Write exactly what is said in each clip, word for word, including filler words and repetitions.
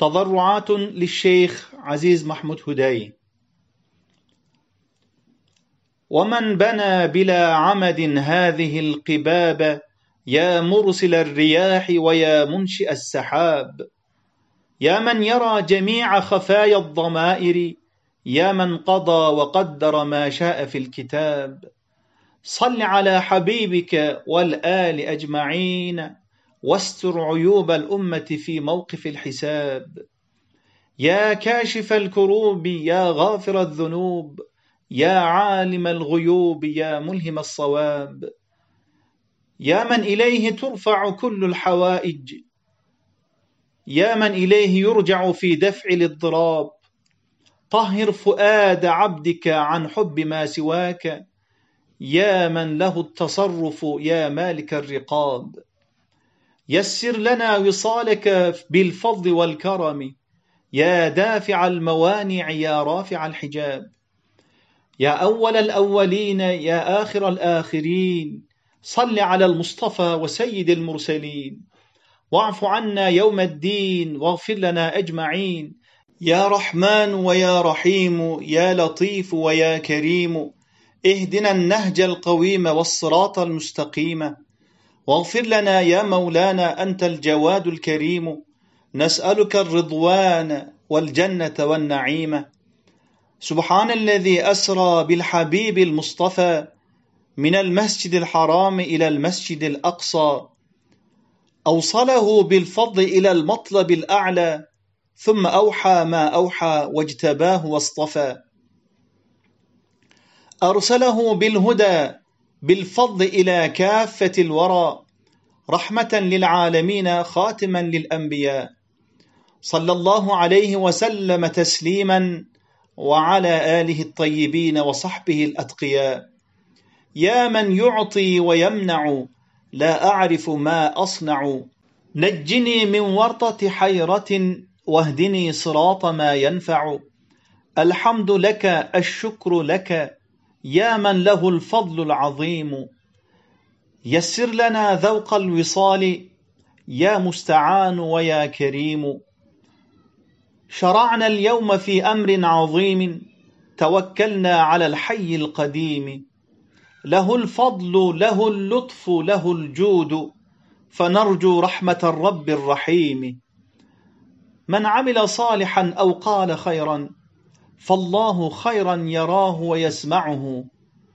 تضرعات للشيخ عزيز محمود هداي. ومن بنى بلا عمد هذه القباب، يا مرسل الرياح ويا منشئ السحاب، يا من يرى جميع خفايا الضمائر، يا من قضى وقدر ما شاء في الكتاب، صل على حبيبك والآل أجمعين، واستر عيوب الأمة في موقف الحساب. يا كاشف الكروب يا غافر الذنوب، يا عالم الغيوب يا ملهم الصواب، يا من إليه ترفع كل الحوائج، يا من إليه يرجع في دفع الاضطراب، طهر فؤاد عبدك عن حب ما سواك، يا من له التصرف يا مالك الرقاب. يسر لنا وصالك بالفضل والكرم، يا دافع الموانع يا رافع الحجاب، يا أول الأولين يا آخر الآخرين، صل على المصطفى وسيد المرسلين، واعف عنا يوم الدين واغفر لنا أجمعين، يا رحمن ويا رحيم يا لطيف ويا كريم، اهدنا النهج القويم والصراط المستقيم، واغفر لنا يا مولانا أنت الجواد الكريم، نسألك الرضوان والجنة والنعيم. سبحان الذي أسرى بالحبيب المصطفى من المسجد الحرام إلى المسجد الأقصى، أوصله بالفضل إلى المطلب الأعلى، ثم أوحى ما أوحى واجتباه واصطفى، أرسله بالهدى بالفضل إلى كافة الورى، رحمة للعالمين خاتما للأنبياء، صلى الله عليه وسلم تسليما وعلى آله الطيبين وصحبه الأتقياء. يا من يعطي ويمنع لا أعرف ما أصنع، نجني من ورطة حيرة واهدني صراط ما ينفع، الحمد لك الشكر لك يا من له الفضل العظيم، يسر لنا ذوق الوصال يا مستعان ويا كريم. شرعنا اليوم في أمر عظيم، توكلنا على الحي القديم، له الفضل له اللطف له الجود، فنرجو رحمة الرب الرحيم. من عمل صالحا أو قال خيرا، فالله خيرا يراه ويسمعه،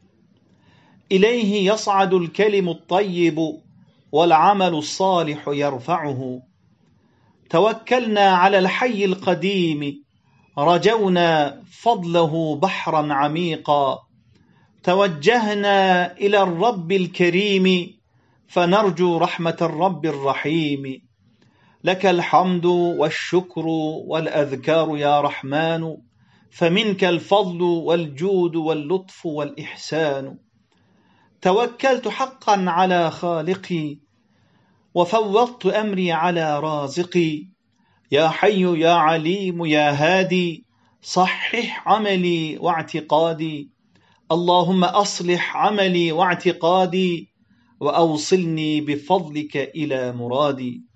إليه يصعد الكلم الطيب والعمل الصالح يرفعه. توكلنا على الحي القديم، رجونا فضله بحرا عميقا، توجهنا إلى الرب الكريم، فنرجو رحمة الرب الرحيم. لك الحمد والشكر والأذكار يا رحمن، فمنك الفضل والجود واللطف والإحسان. توكلت حقا على خالقي، وفوضت أمري على رازقي، يا حي يا عليم يا هادي، صحح عملي واعتقادي، اللهم أصلح عملي واعتقادي، وأوصلني بفضلك إلى مرادي.